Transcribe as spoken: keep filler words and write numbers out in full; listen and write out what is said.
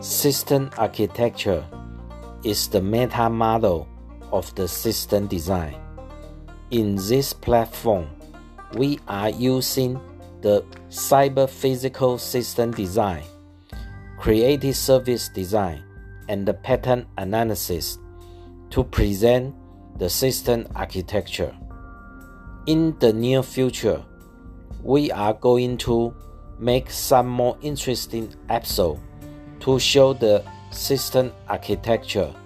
System architecture is the meta model of the system design. In this platform, we are using the cyber-physical system design, creative service design, and the pattern analysis to present the system architecture. In the near future, we are going to make some more interesting episodes to show the system architecture